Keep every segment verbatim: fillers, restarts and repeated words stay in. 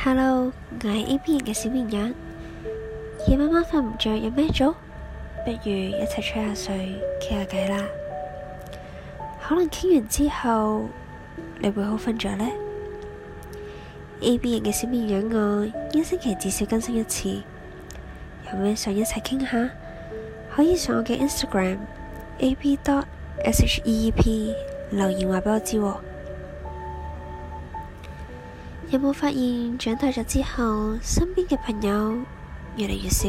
Hello，我係 A B 型嘅小綿羊。夜晚晚瞓唔着，有咩做？不如一齊吹下水，傾下偈啦。可能傾完之後，你會好瞓着呢？ A B 型嘅小綿羊我一星期至少更新一次。有咩想一齊傾下？可以上我嘅 Instagram A B dot S H E E P 留言話俾我知喎。有冇發現長大咗之後，身邊嘅朋友越嚟越少？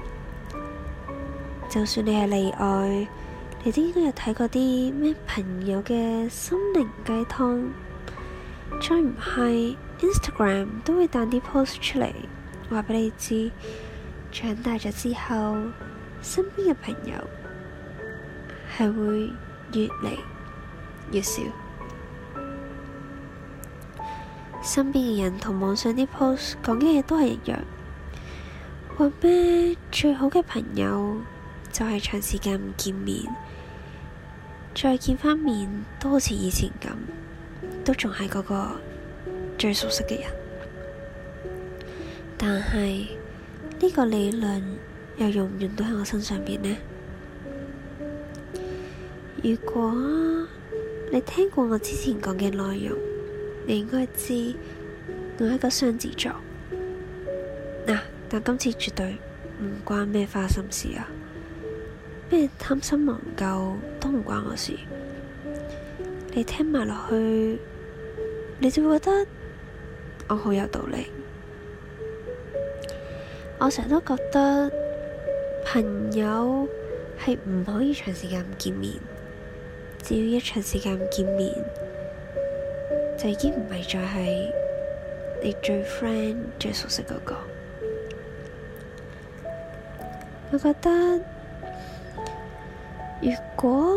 就算你係例外，你都應該有睇過啲咩朋友嘅心靈雞湯，再唔係 Instagram 都會彈啲 post 出嚟，話俾你知，長大咗之後，身邊嘅朋友係會越嚟越少。身邊嘅人同網上啲 post 講嘅嘢都係一樣，話咩最好嘅朋友就係長時間唔見面，再見翻面都好似以前咁，都仲係嗰個最熟悉嘅人。但係呢個理論又用唔用到喺我身上邊呢？如果你聽過我之前講嘅內容，你應該知我係一個雙子座嗱、啊，但今次絕對唔關咩花心事啊，咩貪新忘舊都唔關我事。你聽埋落去，你就會覺得我好有道理。我成日都覺得朋友係唔可以長時間唔見面，只要一長時間唔見面，就已經唔係再係你最 friend 最熟悉嗰個。我覺得如果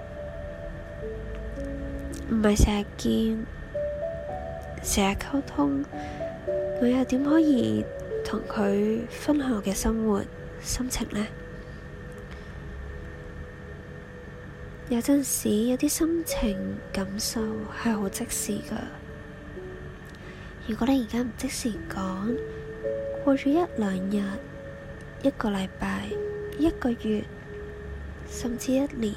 唔係成日見，成日溝通，我又點可以同佢分享我嘅生活心情呢？有陣時有啲心情感受係好即時㗎。如果你而家唔即時講，過咗一兩日、一個禮拜、一個月，甚至一年，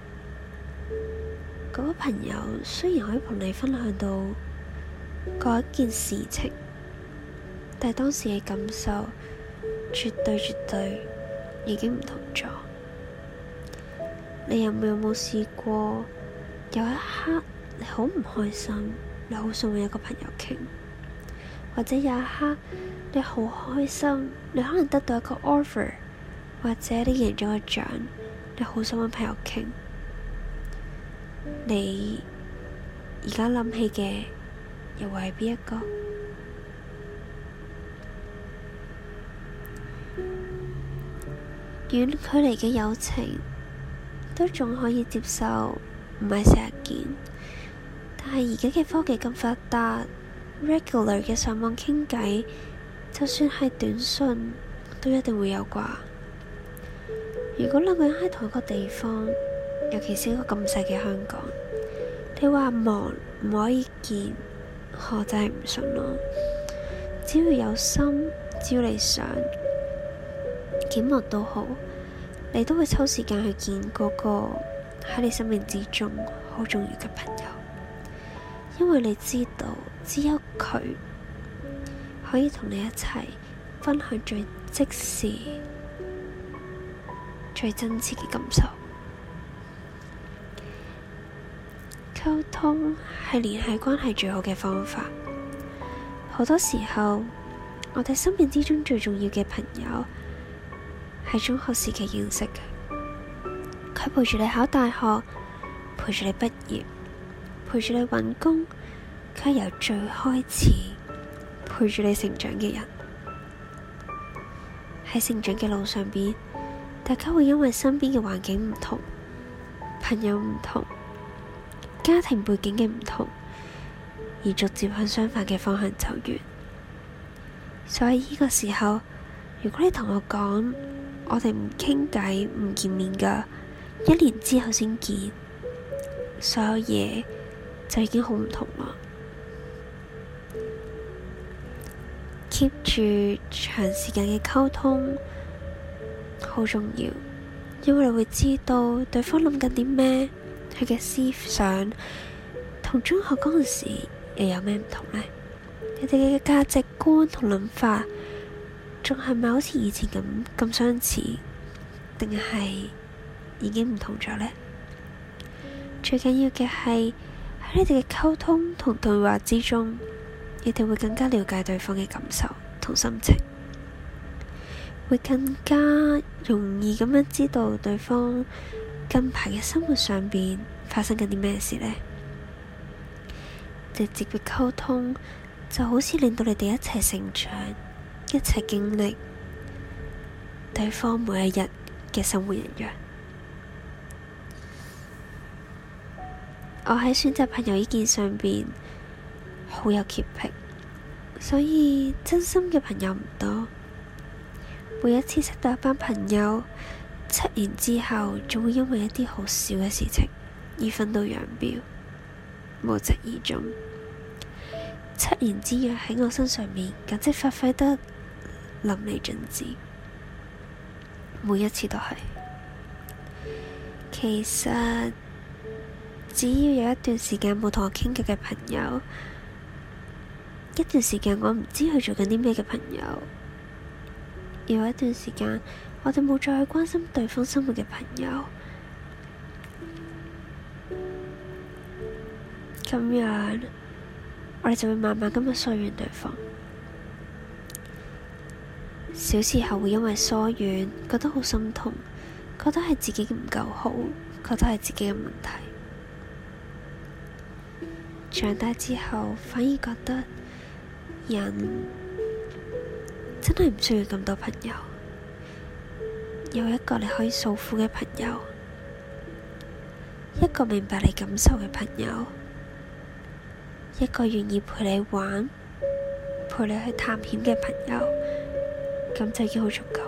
嗰個朋友雖然可以同你分享到嗰一件事情，但係當時嘅感受絕對絕對已經唔同咗。你有冇有冇試過有一刻你好唔開心，你好想搵一個朋友傾，或者有一刻你好開心，你可能得到一個 offer， 或者你贏咗個獎，你好想搵朋友傾。你而家諗起嘅又會係邊一個？遠距離嘅友情都仲可以接受，唔係成日見。但係而家嘅科技咁發達 ，regular 嘅上網傾偈，就算係短信，都一定會有啩。如果兩個人喺同一個地方，尤其是一個咁細嘅香港，你話忙唔可以見，我真係唔信咯。只要有心，只要你想，幾忙都好，你都會抽時間去見嗰個喺你生命之中好重要嘅朋友，因為你知道只有佢可以同你一齊分享最即時、最真切嘅感受。溝通係聯繫關係最好嘅方法。好多時候，我哋生命之中最重要嘅朋友係中學時期認識嘅，佢陪住你考大學，陪住你畢業，陪住你搵工，佢係由最開始陪住你成長嘅人。喺成長嘅路上邊，大家會因為身邊嘅環境唔同、朋友唔同、家庭背景嘅唔同，而逐漸向相反嘅方向走遠。所以呢個時候，如果你同我講，我哋唔傾偈唔見面㗎，一年之後先見，所有嘢就已經好唔同啦。 keep 住長時間嘅溝通好重要，因為你會知道對方諗緊啲咩，佢嘅思想同中學嗰陣時又有咩唔同呢？你哋嘅價值觀同諗法仲係咪好似以前咁咁相似，定係已經唔同咗呢？最緊要嘅係喺你哋嘅溝通同對話之中，你哋會更加了解對方嘅感受同心情，會更加容易咁樣知道對方近排嘅生活上邊發生緊啲咩事呢？直接嘅溝通就好似令到你哋一齊成長，一齊經歷對方每一日嘅生活一樣。我喺選擇朋友呢件上邊好有潔癖，所以真心嘅朋友唔多。每一次識到一班朋友，七年之後仲會因為一啲好小嘅事情而分道揚鑣，無疾而終。七年之癢喺我身上面簡直發揮得淋漓盡致，每一次都係。其實只要有一段時間冇同我傾偈嘅朋友，一段時間我唔知佢做緊啲咩嘅朋友，有一段時間我哋冇再去關心對方生活嘅朋友，咁樣我哋就會慢慢咁樣疏遠對方。小時候會因為疏遠覺得好心痛，覺得係自己唔夠好，覺得係自己嘅問題。長大之後反而覺得人真係唔需要咁多朋友，有一個你可以訴苦嘅朋友，一個明白你感受嘅朋友，一個願意陪你玩，陪你去探險嘅朋友，咁就已經好足夠。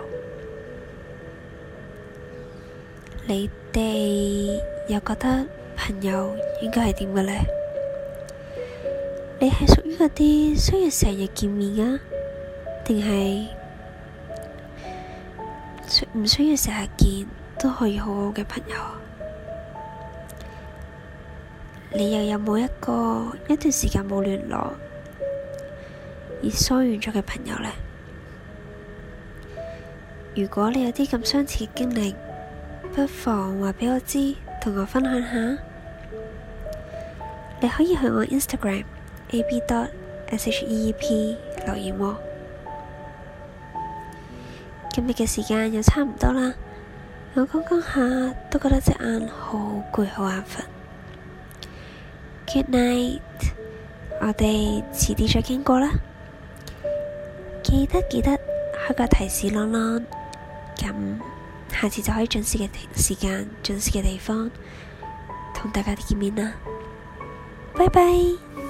你哋又覺得朋友應該係點嘅呢？你係屬於嗰啲需要成日見面啊，定係唔需要成日見都可以好好嘅朋友？你又有冇一個一段時間冇聯絡而疏遠咗嘅朋友呢？如果你有啲咁相似嘅經歷，不妨話畀我知，同我分享下。你可以去我 Instagram A B dot S H E E P 留言喎。今日嘅時間又差唔多啦，我講講下都覺得隻眼好攰好眼瞓。Good night， 我哋遲啲再傾過啦。記得記得開個提示啷啷，咁下次就可以準時嘅時間、準時嘅地方同大家見面啦。拜拜。